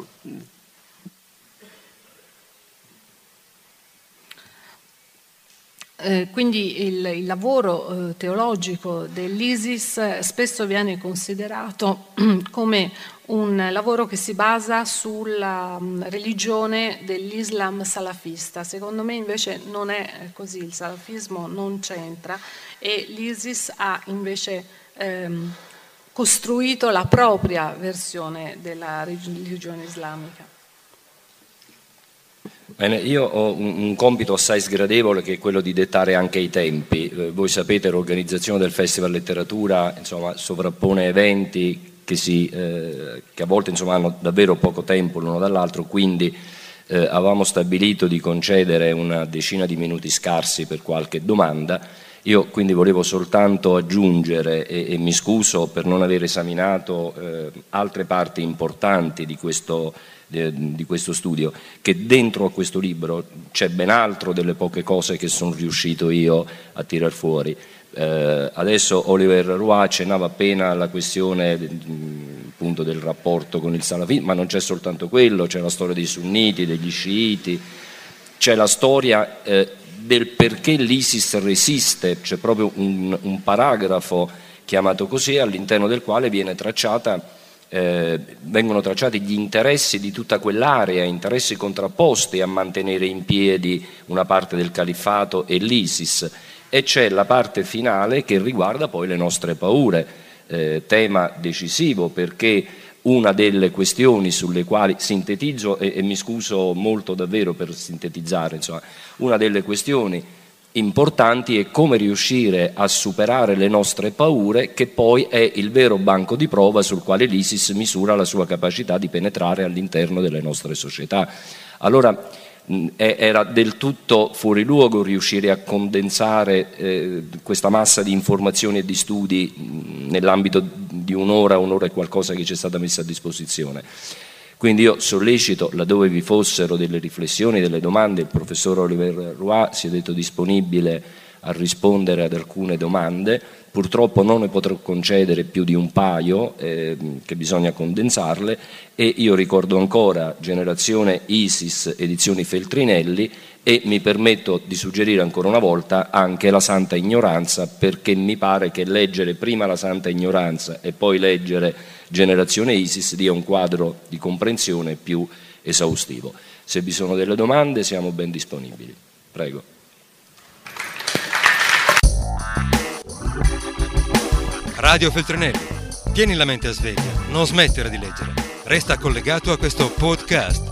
Quindi il lavoro teologico dell'ISIS spesso viene considerato come un lavoro che si basa sulla religione dell'Islam salafista. Secondo me invece non è così, il salafismo non c'entra e l'ISIS ha invece costruito la propria versione della religione islamica. Bene, io ho un compito assai sgradevole che è quello di dettare anche i tempi. Voi sapete, l'organizzazione del Festival Letteratura sovrappone eventi che a volte hanno davvero poco tempo l'uno dall'altro, quindi avevamo stabilito di concedere una decina di minuti scarsi per qualche domanda. Io quindi volevo soltanto aggiungere, e mi scuso per non aver esaminato altre parti importanti di questo studio, che dentro a questo libro c'è ben altro delle poche cose che sono riuscito io a tirar fuori. Adesso Oliver Roy accennava appena alla questione appunto del rapporto con il salafismo, ma non c'è soltanto quello, c'è la storia dei sunniti, degli sciiti, c'è la storia del perché l'ISIS resiste, c'è proprio un paragrafo chiamato così, all'interno del quale vengono tracciati gli interessi di tutta quell'area, interessi contrapposti a mantenere in piedi una parte del califfato e l'ISIS, e c'è la parte finale che riguarda poi le nostre paure, tema decisivo, perché una delle questioni sulle quali sintetizzo, e mi scuso molto davvero per sintetizzare, una delle questioni importanti è come riuscire a superare le nostre paure, che poi è il vero banco di prova sul quale l'ISIS misura la sua capacità di penetrare all'interno delle nostre società. Allora era del tutto fuori luogo riuscire a condensare questa massa di informazioni e di studi nell'ambito di un'ora e qualcosa che ci è stata messa a disposizione. Quindi io sollecito, laddove vi fossero delle riflessioni, delle domande, il professor Oliver Roy si è detto disponibile a rispondere ad alcune domande. Purtroppo non ne potrò concedere più di un paio, che bisogna condensarle, e io ricordo ancora Generazione ISIS, edizioni Feltrinelli, e mi permetto di suggerire ancora una volta anche La Santa Ignoranza, perché mi pare che leggere prima La Santa Ignoranza e poi leggere Generazione ISIS dia un quadro di comprensione più esaustivo. Se vi sono delle domande siamo ben disponibili. Prego. Radio Feltrinelli, tieni la mente a sveglia, non smettere di leggere. Resta collegato a questo podcast.